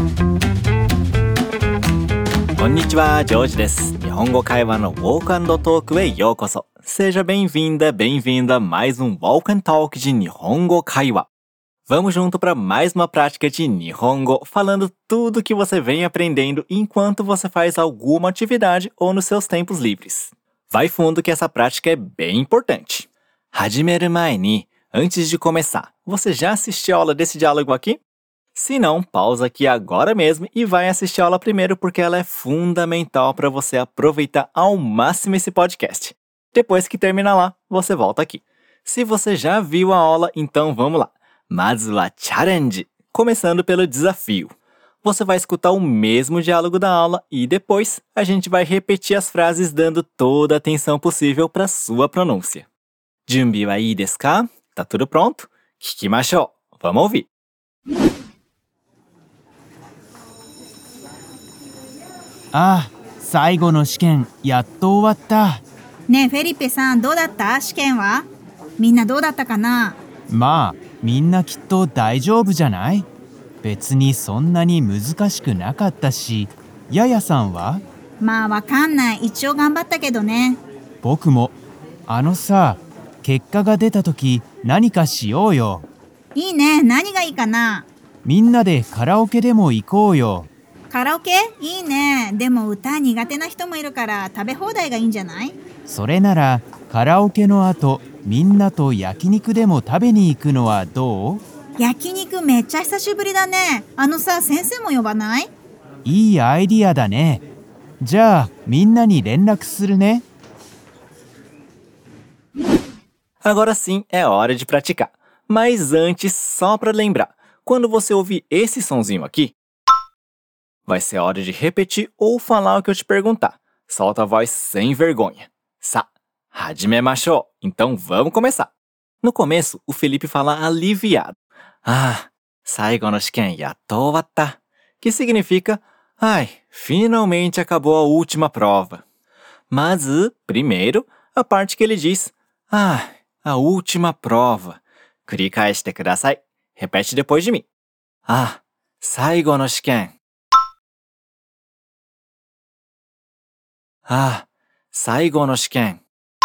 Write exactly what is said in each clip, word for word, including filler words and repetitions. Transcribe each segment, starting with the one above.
こんにちは、ジョージです。日本語会話の Walk and Talk へようこそ。Seja bem-vinda, bem-vinda a mais um Walk and Talk de Nihongo Kaiwa. Vamos junto para mais uma prática de Nihongo, falando tudo que você vem aprendendo enquanto você faz alguma atividade ou nos seus tempos livres. Vai fundo que essa prática é bem importante. Hajimeru mae ni, antes de começar, você já assistiu a aula desse diálogo aqui? Se não, pausa aqui agora mesmo e vai assistir a aula primeiro porque ela é fundamental para você aproveitar ao máximo esse podcast. Depois que terminar lá, você volta aqui. Se você já viu a aula, então vamos lá. Mazu wa challenge, começando pelo desafio. Você vai escutar o mesmo diálogo da aula e depois a gente vai repetir as frases dando toda a atenção possível para sua pronúncia. Junbi wa ii desu ka? Tá tudo pronto? Kikimashou. Vamos ouvir. ああ、最後の試験やっと終わった。 ねえフェリペさん、どうだった？試験は？みんなどうだったかな？ まあみんなきっと大丈夫じゃない？別にそんなに難しくなかったし。ややさんは？ まあわかんない。一応頑張ったけどね。 僕も。あのさ、結果が出た時何かしようよ。 いいね。何がいいかな？ みんなでカラオケでも行こうよ。 カラオケ？いいね。でも歌苦手な人もいるから食べ放題がいいんじゃない？ それならカラオケの後みんなと焼肉でも食べに行くのはどう？ 焼肉めっちゃ久しぶりだね。あのさ、先生も呼ばない？ いいアイディアだね。じゃあみんなに連絡するね。 Agora sim é hora de praticar. Mas antes, só para lembrar, quando você ouvir esse sonzinho aqui, vai ser hora de repetir ou falar o que eu te perguntar. Solta a voz sem vergonha. Sa, hajimemashou. Então vamos começar. No começo, o Felipe fala aliviado. Ah, saigo no shiken yatto owatta. Que significa, ai, finalmente acabou a última prova. Mas, primeiro, a parte que ele diz, ah, a última prova. Kurikaeshite kudasai. Repete depois de mim. Ah, saigo no shiken. Ah, 最後の試験。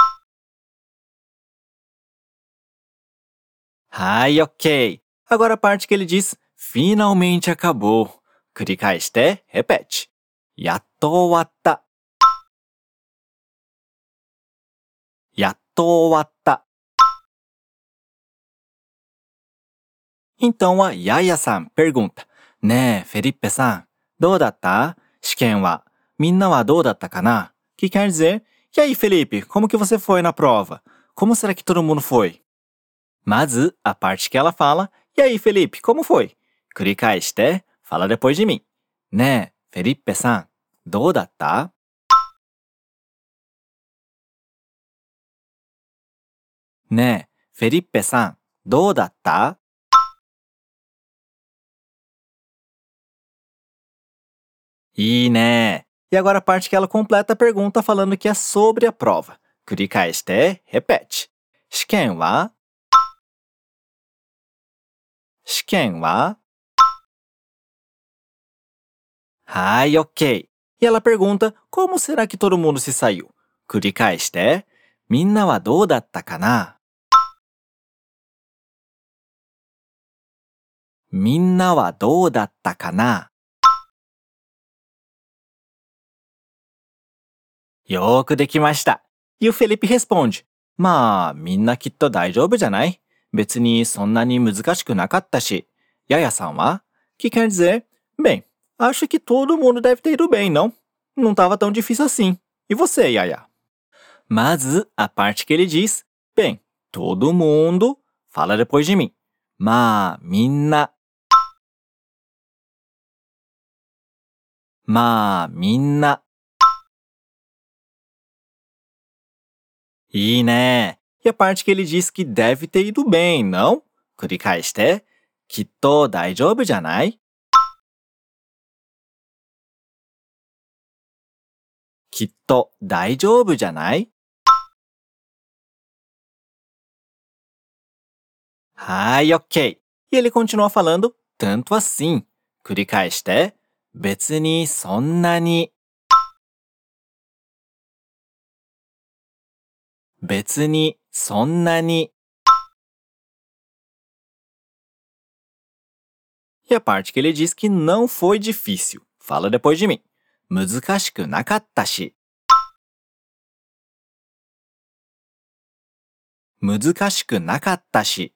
はい、ok. Agora a parte que ele diz, finalmente acabou. Kurikaeshite, repete. やっと終わった。やっと終わった。Então a Yaya-san pergunta, ねえ、フェリッペさん、どうだった？試験は。みんなはどうだったかな? Que quer dizer, e aí, Felipe, como que você foi na prova? Como será que todo mundo foi? Mas a parte que ela fala, e aí, Felipe, como foi? Kurikaeshite, fala depois de mim. ねえ、フェリッペさん、どうだった? ねえ、フェリッペさん、どうだった? E né? E agora a parte que ela completa a pergunta falando que é sobre a prova. Kurikaeshite, repete. Shiken wa? Shiken wa? Hai, ok. E ela pergunta como será que todo mundo se saiu. Kurikaeshite, minna wa dou datta kana? Minna wa dou datta kana? Yoku dekimashita. E o Felipe responde, まあ、みんなきっと大丈夫じゃない？別にそんなに難しくなかったし。Yayaさんは? Que quer dizer, bem, acho que todo mundo deve ter ido bem, não? Não estava tão difícil assim. E você, Yaya? Mas a parte que ele diz, bem, todo mundo, fala depois de mim. まあ、みんな。まあ、みんな。E né? E a parte que ele diz que deve ter ido bem, não? Kurikaeshite, kitto daijoubu janai? Kitto daijoubu janai? Hai, ok. E ele continua falando tanto assim. 繰り返して。別にそんなに。別にそんなに。E a parte que ele diz que não foi difícil. Fala depois de mim. 難しくなかったし。難しくなかったし。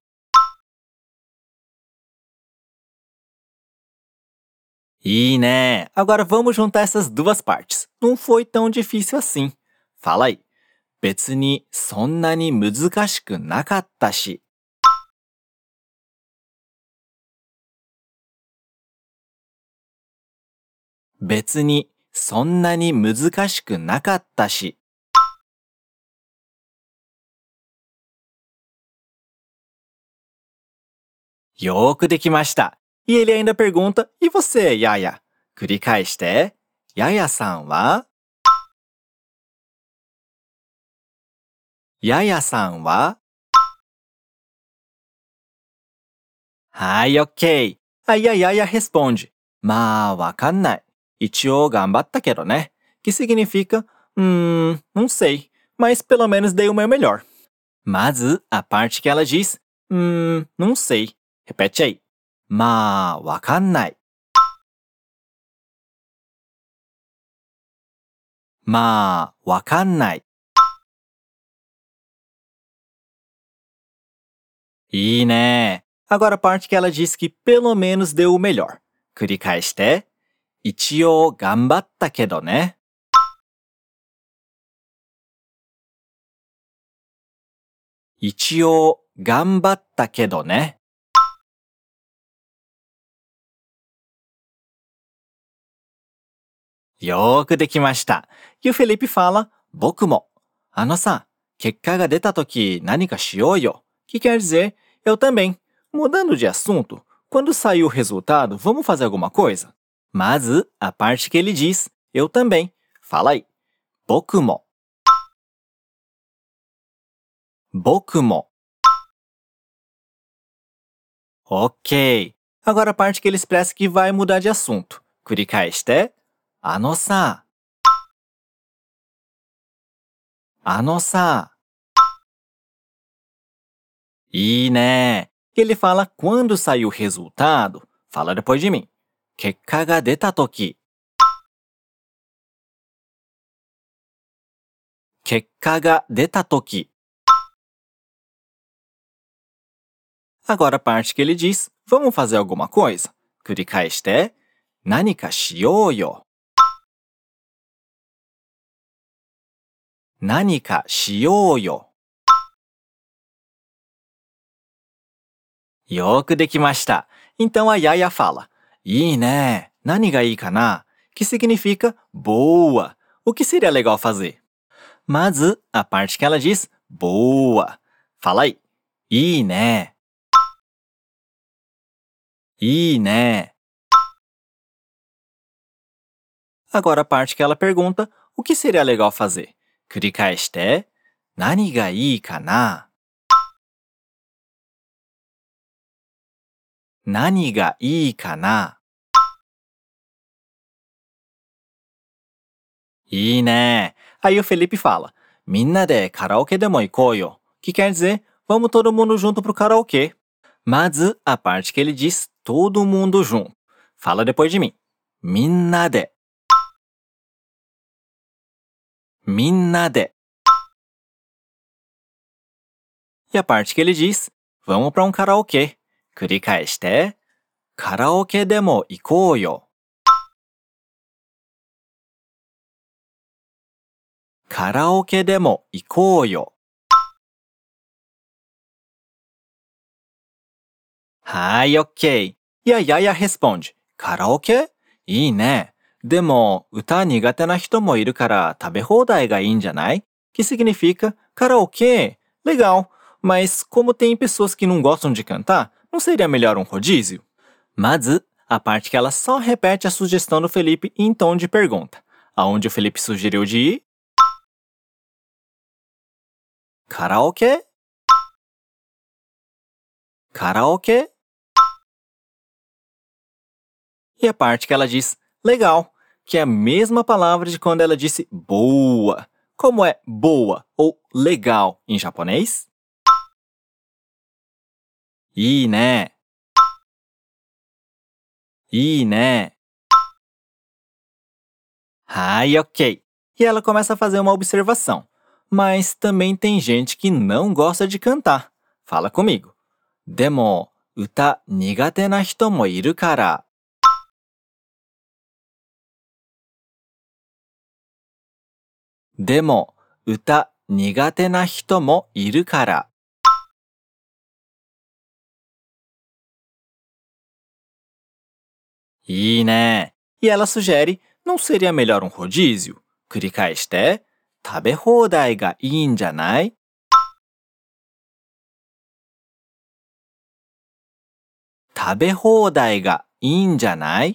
いいね. Agora vamos juntar essas duas partes. Não foi tão difícil assim. Fala aí. 別にそんなに難しくなかったし。別にそんなに難しくなかったし。よーくできました。E ele ainda pergunta, e você, Yaya? 繰り返して。ヤヤさんはヤヤさんははい、OK. Aí a Yaya responde, まあ、わかんない。一応頑張ったけどね。Que significa, hum, não sei, mas pelo menos dei o meu melhor. Mas a parte que ela diz, hum, não sei. Repete aí. まあ、わかんない。まあ、わかんない。いいね。Agora a parte que ela diz que pelo menos deu o melhor. 繰り返して。一応頑張ったけどね。一応頑張ったけどね。よーくできました。E o Felipe fala, 僕も。あのさ、結果が出たとき何かしようよ。Que quer dizer, eu também. Mudando de assunto, quando sair o resultado, vamos fazer alguma coisa? Mas a parte que ele diz, eu também. Fala aí. 僕も。僕も。Ok. Agora a parte que ele expressa que vai mudar de assunto. 繰り返して。あのさ。あのさ。いいね。Ele fala quando sair o resultado. Fala depois de mim. 結果が出たとき。結果が出たとき。Agora a parte que ele diz, vamos fazer alguma coisa? 繰り返して。何かしようよ。何かしようよ。よーくできました。Então a Yaya fala, いいね。何がいいかな? Que significa boa. O que seria legal fazer? Mas a parte que ela diz, boa. Fala aí. いいね。いいね。Agora a parte que ela pergunta, o que seria legal fazer? 繰り返して。何がいいかな? 何がいいかな? いいね。Aí o Felipe fala, みんなでカラオケでも行こうよ。Que quer dizer, vamos todo mundo junto pro karaokê. Mas a parte que ele diz, todo mundo junto. Fala depois de mim. みんなで。みんなで。E a parte que ele diz, vamos para um karaokê. 繰り返して。カラオケでも行こうよ。カラオケでも行こうよ。はい、OK。いや、やや responde。カラオケ? いいね。でも、歌苦手な人もいるから食べ放題がいいんじゃない? Que significa karaokê. Legal. Mas como tem pessoas que não gostam de cantar, não seria melhor um rodízio? Mas a parte que ela só repete a sugestão do Felipe em tom de pergunta. Aonde o Felipe sugeriu de ir? Karaokê? Karaokê? E a parte que ela diz legal, que é a mesma palavra de quando ela disse boa. Como é boa ou legal em japonês? いいね。いいね。Ai, ok. E ela começa a fazer uma observação. Mas também tem gente que não gosta de cantar. Fala comigo. でも、歌苦手な人もいるから。でも、歌苦手な人もいるから。いいね。E ela sugere, não seria melhor um rodízio? 繰り返して、食べ放題がいいんじゃない？食べ放題がいいんじゃない？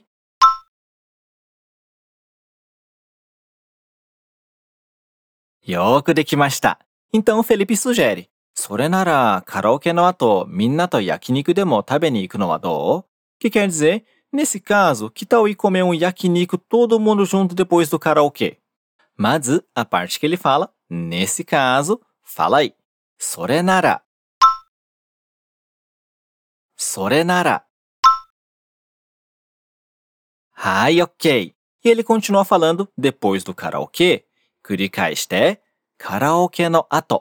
よーくできました。Então Felipe sugere, それならカラオケの後みんなと焼肉でも食べに行くのはどう？ Que quer dizer, nesse caso, que tal ir comer um yakiniku todo mundo junto depois do karaokê? まず、a parte que ele fala, nesse caso, fala aí. それなら。それなら。はい、ok. E ele continua falando depois do karaokê. 繰り返して、カラオケの後。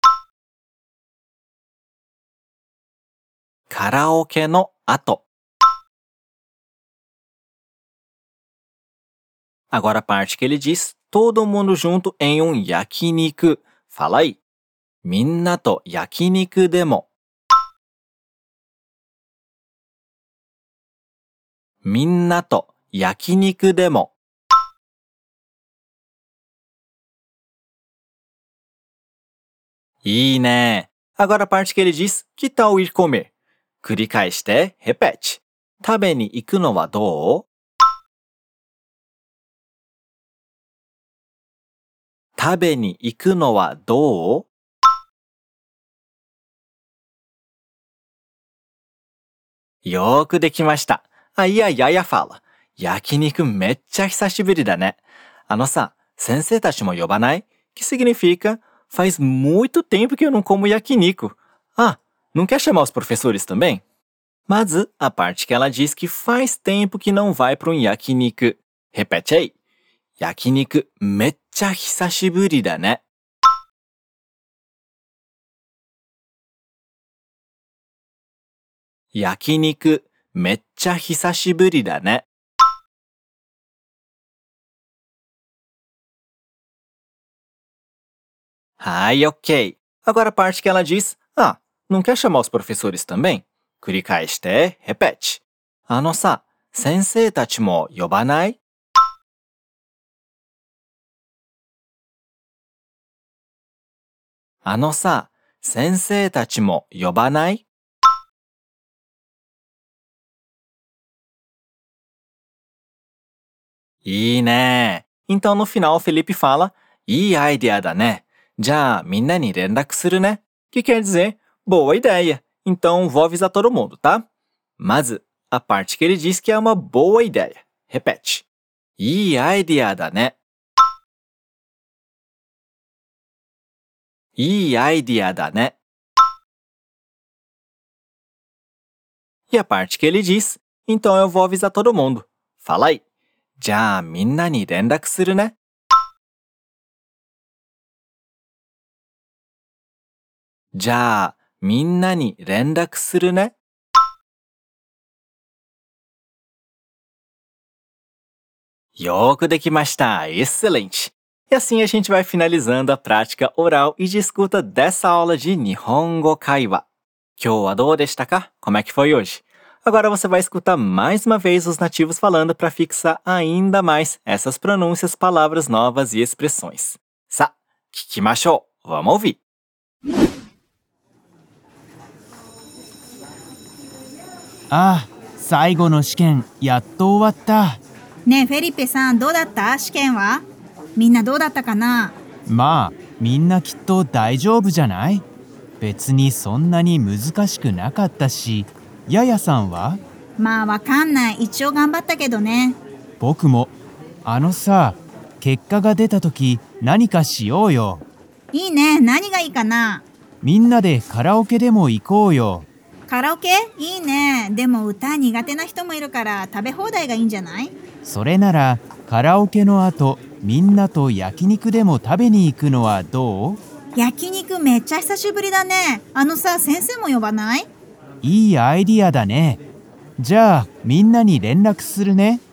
カラオケの後。Agora a parte que ele diz, todo mundo junto em um yakiniku. Fala aí. みんなと焼肉でも。みんなと焼肉でも。いいね。Agora a parte que ele diz, que tal ir comer? 繰り返して、repete. 食べに行くのはどう？食べに行くのはどう？よーくできました。あ、いやいやいやfala. 焼肉めっちゃ久しぶりだね。あのさ、先生たちも呼ばない？ Que significa, faz muito tempo que eu não como yakiniku. Ah, não quer chamar os professores também? まず、a parte que ela diz que faz tempo que não vai para um yakiniku. Repete aí. 焼肉めっちゃ久しぶりだね。焼肉めっちゃ久しぶりだね。はい、ok. Agora a parte que ela diz, ah, não quer chamar os professores também? 繰り返して、repete. あのさ、先生たちも呼ばない？あのさ、先生たちも呼ばない？いいね。Então no final Felipe fala, いいアイデアだね。じゃあみんなに連絡するね。Que quer dizer, boa ideia. Então vou avisar todo mundo, tá? まず、a parte que ele diz que é uma boa ideia. Repete. いいアイデアだね。いいアイディアだね。E a parte que ele diz, então eu vou avisar todo mundo. Fala aí. じゃあみんなに連絡するね。じゃあみんなに連絡するね。よーくできました。Excelente! E assim a gente vai finalizando a prática oral e de escuta dessa aula de Nihongo Kaiwa. 今日はどうでしたか? Como é que foi hoje? Agora você vai escutar mais uma vez os nativos falando para fixar ainda mais essas pronúncias, palavras novas e expressões. さあ、聞きましょう。Vamos ouvir. ああ、最後の試験やっと終わった。 ねえフェリペさん、どうだった？試験は？みんなどうだったかな？ まあ、みんなきっと大丈夫じゃない？別にそんなに難しくなかったし、ややさんは？ まあわかんない。一応頑張ったけどね。 僕も。あのさ、結果が出た時何かしようよ。 いいね。何がいいかな？ みんなでカラオケでも行こうよ。 カラオケ？いいね。でも歌苦手な人もいるから食べ放題がいいんじゃない？ それならカラオケの後、みんなと焼肉でも食べに行くのはどう？ 焼肉めっちゃ久しぶりだね。あのさ、先生も呼ばない？ いいアイディアだね。じゃあみんなに連絡するね。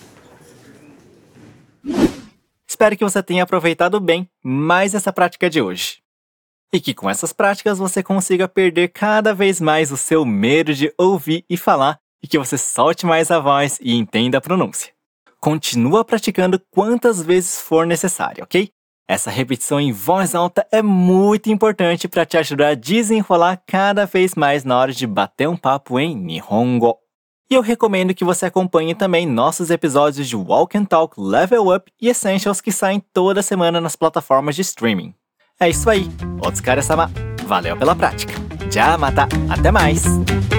Espero que você tenha aproveitado bem mais essa prática de hoje. E que com essas práticas você consiga perder cada vez mais o seu medo de ouvir e falar e que você solte mais a voz e entenda a pronúncia. Continua praticando quantas vezes for necessário, ok? Essa repetição em voz alta é muito importante para te ajudar a desenrolar cada vez mais na hora de bater um papo em Nihongo. E eu recomendo que você acompanhe também nossos episódios de Walk and Talk Level Up e Essentials que saem toda semana nas plataformas de streaming. É isso aí, Otsukare-sama, valeu pela prática. Já mata, até mais!